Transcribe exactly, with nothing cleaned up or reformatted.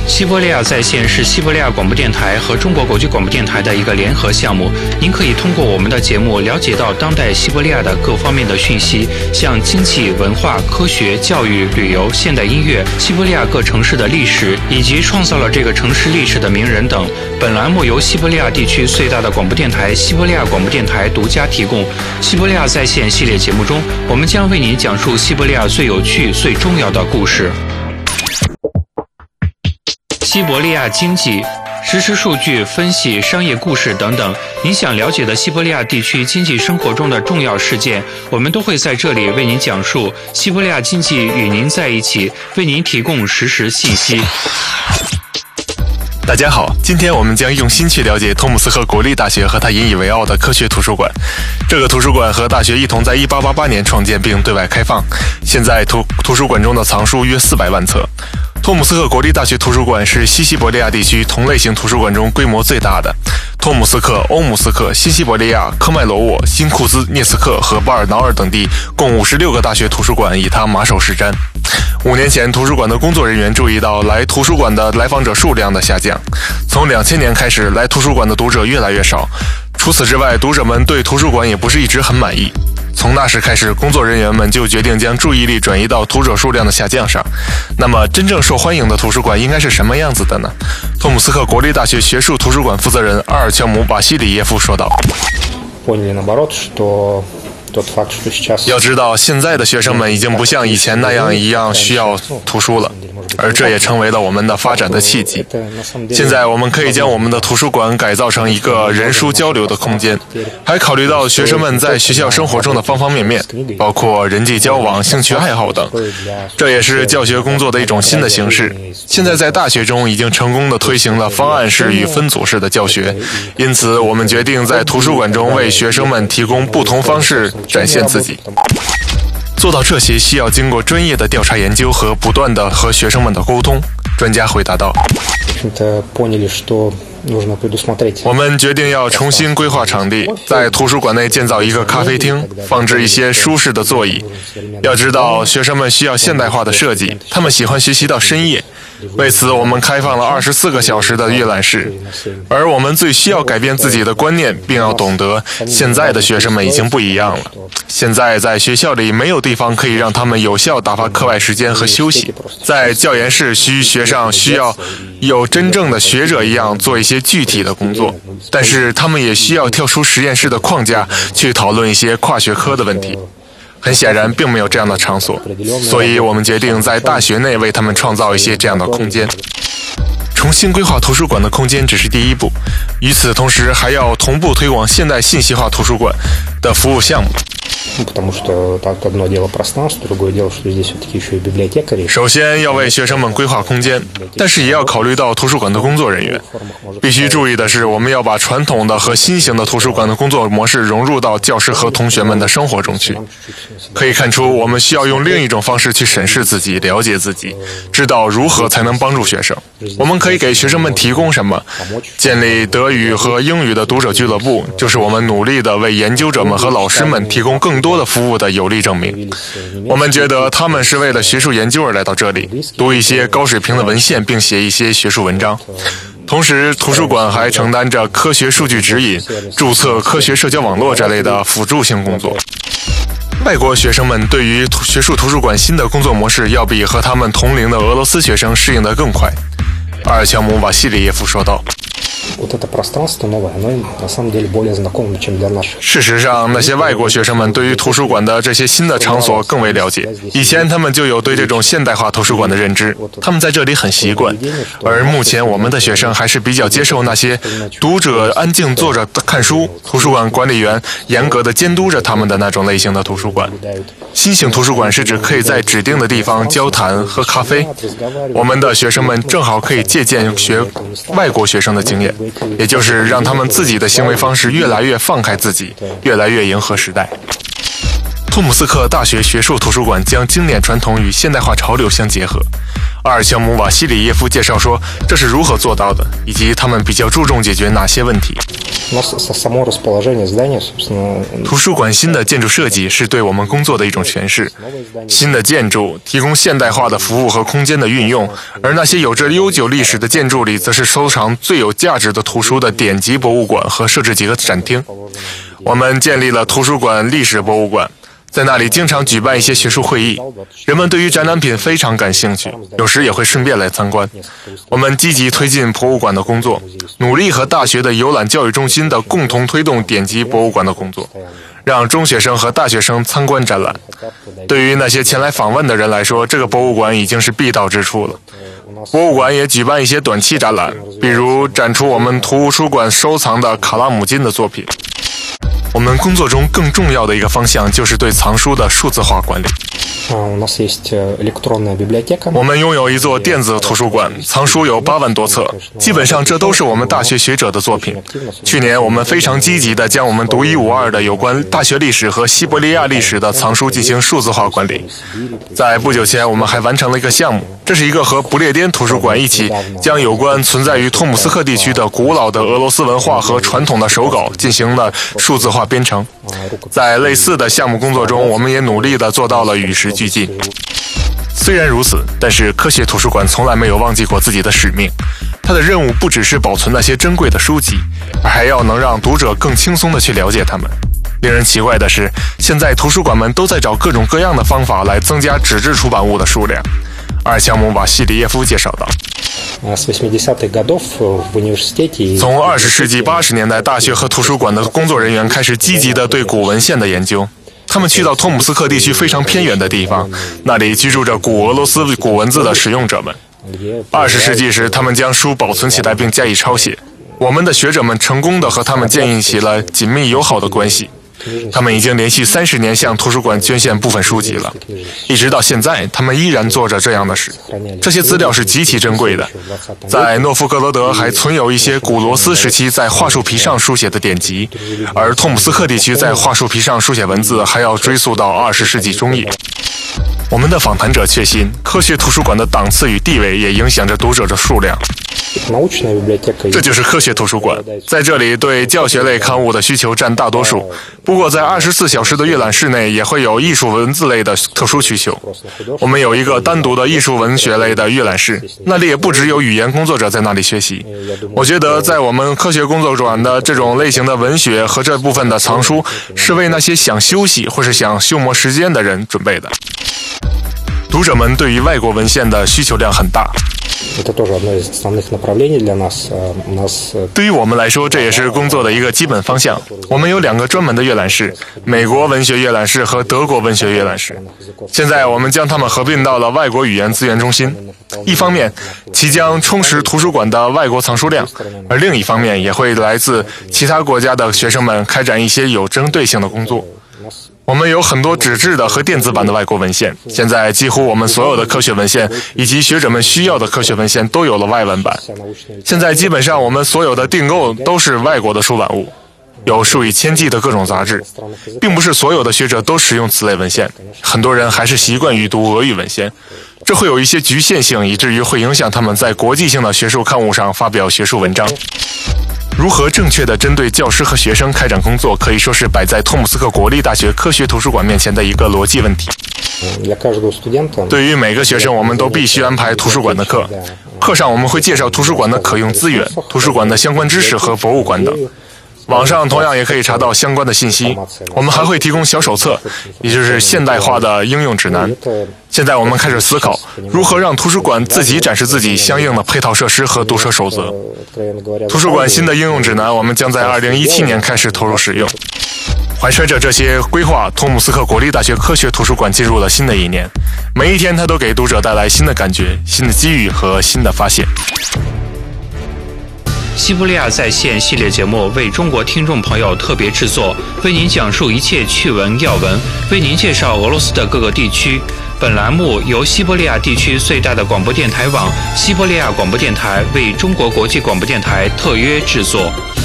西伯利亚在线是西伯利亚广播电台和中国国际广播电台的一个联合项目。您可以通过我们的节目了解到当代西伯利亚的各方面的讯息，像经济、文化、科学、教育、旅游、现代音乐、西伯利亚各城市的历史，以及创造了这个城市历史的名人等。本栏目由西伯利亚地区最大的广播电台西伯利亚广播电台独家提供。西伯利亚在线系列节目中，我们将为您讲述西伯利亚最有趣、最重要的故事。西伯利亚经济、实时数据分析、商业故事等等，您想了解的西伯利亚地区经济生活中的重要事件，我们都会在这里为您讲述。西伯利亚经济与您在一起，为您提供实时信息。 大家好，今天我们将用心去了解托姆斯克国立大学和它引以为傲的科学图书馆。这个图书馆和大学一同在一八八八年创建并对外开放，现在图图书馆中的藏书约四百万册。托姆斯克国立大学图书馆是西西伯利亚地区同类型图书馆中规模最大的。托姆斯克、欧姆斯克、新西伯利亚、科迈罗沃、新库兹涅斯克和巴尔瑙尔等地共五十六个大学图书馆以它马首是瞻。五年前，图书馆的工作人员注意到来图书馆的来访者数量的下降。从两千年开始，来图书馆的读者越来越少。除此之外，读者们对图书馆也不是一直很满意。从那时开始，工作人员们就决定将注意力转移到读者数量的下降上。那么，真正受欢迎的图书馆应该是什么样子的呢？托姆斯克国立大学学术图书馆负责人阿尔乔姆·瓦西里耶夫说道。要知道，现在的学生们已经不像以前那样一样需要图书了，而这也成为了我们的发展的契机。现在我们可以将我们的图书馆改造成一个人书交流的空间，还考虑到学生们在学校生活中的方方面面，包括人际交往、兴趣爱好等。这也是教学工作的一种新的形式。现在在大学中已经成功地推行了方案式与分组式的教学，因此我们决定在图书馆中为学生们提供不同方式展现自己。做到这些需要经过专业的调查研究和不断的和学生们的沟通。专家回答道。我们决定要重新规划场地，在图书馆内建造一个咖啡厅，放置一些舒适的座椅。要知道，学生们需要现代化的设计，他们喜欢学习到深夜。为此，我们开放了二十四个小时的阅览室。而我们最需要改变自己的观念，并要懂得，现在的学生们已经不一样了。现在在学校里没有地方可以让他们有效打发课外时间和休息。在教研室需学上需要有真正的学者一样做一些具体的工作，但是他们也需要跳出实验室的框架去讨论一些跨学科的问题。很显然并没有这样的场所，所以我们决定在大学内为他们创造一些这样的空间。重新规划图书馆的空间只是第一步，与此同时还要同步推广现代信息化图书馆的服务项目。首先要为学生们规划空间，但是也要考虑到图书馆的工作人员。必须注意的是，我们要把传统的和新型的图书馆的工作模式融入到教师和同学们的生活中去。可以看出，我们需要用另一种方式去审视自己，了解自己，知道如何才能帮助学生。我们可以给学生们提供什么？建立德语和英语的读者俱乐部，就是我们努力的为研究者们和老师们提供更多的服务的有力证明。我们觉得他们是为了学术研究而来到这里，读一些高水平的文献，并写一些学术文章。同时，图书馆还承担着科学数据指引、注册科学社交网络这类的辅助性工作。外国学生们对于学术图书馆新的工作模式要比和他们同龄的俄罗斯学生适应得更快。阿尔乔姆·瓦西里耶夫说道。事实上，那些外国学生们对于图书馆的这些新的场所更为了解。以前他们就有对这种现代化图书馆的认知，他们在这里很习惯。而目前我们的学生还是比较接受那些读者安静坐着看书，图书馆管理员严格的监督着他们的那种类型的图书馆。新型图书馆是指可以在指定的地方交谈、喝咖啡。我们的学生们正好可以借鉴学外国学生的经验，也就是让他们自己的行为方式越来越放开自己，越来越迎合时代。托姆斯克大学学术图书馆将经典传统与现代化潮流相结合。阿尔乔姆·瓦西里耶夫介绍说，这是如何做到的，以及他们比较注重解决哪些问题。 图书馆新的建筑设计是对我们工作的一种诠释。新的建筑提供现代化的服务和空间的运用，而那些有着悠久历史的建筑里，则是收藏最有价值的图书的典籍博物馆和设置几个展厅。我们建立了图书馆历史博物馆，在那里经常举办一些学术会议，人们对于展览品非常感兴趣，有时也会顺便来参观。我们积极推进博物馆的工作，努力和大学的游览教育中心的共同推动典籍博物馆的工作，让中学生和大学生参观展览。对于那些前来访问的人来说，这个博物馆已经是必到之处了。博物馆也举办一些短期展览，比如展出我们图书馆收藏的卡拉姆金的作品。我们工作中更重要的一个方向就是对藏书的数字化管理。我们拥有一座电子图书馆，藏书有八万多册，基本上这都是我们大学学者的作品。去年我们非常积极地将我们独一无二的有关大学历史和西伯利亚历史的藏书进行数字化管理。在不久前，我们还完成了一个项目，这是一个和不列颠图书馆一起将有关存在于托姆斯克地区的古老的俄罗斯文化和传统的手稿进行了数字化编程。在类似的项目工作中，我们也努力地做到了与时俱进。虽然如此，但是科学图书馆从来没有忘记过自己的使命。它的任务不只是保存那些珍贵的书籍，而还要能让读者更轻松地去了解它们。令人奇怪的是，现在图书馆们都在找各种各样的方法来增加纸质出版物的数量。阿尔乔姆·瓦西里耶夫介绍道，从二十世纪八十年代，大学和图书馆的工作人员开始积极地对古文献的研究。他们去到托姆斯克地区非常偏远的地方，那里居住着古俄罗斯古文字的使用者们。二十世纪时，他们将书保存起来并加以抄写。我们的学者们成功地和他们建立起了紧密友好的关系。他们已经连续三十年向图书馆捐献部分书籍了，一直到现在，他们依然做着这样的事。这些资料是极其珍贵的。在诺夫哥罗德还存有一些古罗斯时期在桦树皮上书写的典籍，而托姆斯克地区在桦树皮上书写文字还要追溯到二十世纪中叶。我们的访谈者确信，科学图书馆的档次与地位也影响着读者的数量。这就是科学图书馆，在这里对教学类刊物的需求占大多数。不过在二十四小时的阅览室内也会有艺术文字类的特殊需求。我们有一个单独的艺术文学类的阅览室，那里也不只有语言工作者在那里学习。我觉得在我们科学工作馆的这种类型的文学和这部分的藏书，是为那些想休息或是想消磨时间的人准备的。读者们对于外国文献的需求量很大。对于我们来说，这也是工作的一个基本方向。我们有两个专门的阅览室，美国文学阅览室和德国文学阅览室。现在我们将它们合并到了外国语言资源中心。一方面，其将充实图书馆的外国藏书量，而另一方面，也会来自其他国家的学生们开展一些有针对性的工作。我们有很多纸质的和电子版的外国文献，现在几乎我们所有的科学文献以及学者们需要的科学文献都有了外文版。现在基本上我们所有的订购都是外国的出版物，有数以千计的各种杂志，并不是所有的学者都使用此类文献，很多人还是习惯于读俄语文献，这会有一些局限性，以至于会影响他们在国际性的学术刊物上发表学术文章。如何正确地针对教师和学生开展工作，可以说是摆在托姆斯克国立大学科学图书馆面前的一个逻辑问题。对于每个学生，我们都必须安排图书馆的课，课上我们会介绍图书馆的可用资源、图书馆的相关知识和博物馆等。网上同样也可以查到相关的信息。我们还会提供小手册，也就是现代化的应用指南。现在我们开始思考如何让图书馆自己展示自己相应的配套设施和读舍守则。图书馆新的应用指南我们将在二零一七年开始投入使用。怀揣着这些规划，托姆斯克国立大学科学图书馆进入了新的一年，每一天它都给读者带来新的感觉、新的机遇和新的发现。 西伯利亚在线系列节目为中国听众朋友特别制作，为您讲述一切趣闻要闻，为您介绍俄罗斯的各个地区。本栏目由西伯利亚地区最大的广播电台网西伯利亚广播电台为中国国际广播电台特约制作。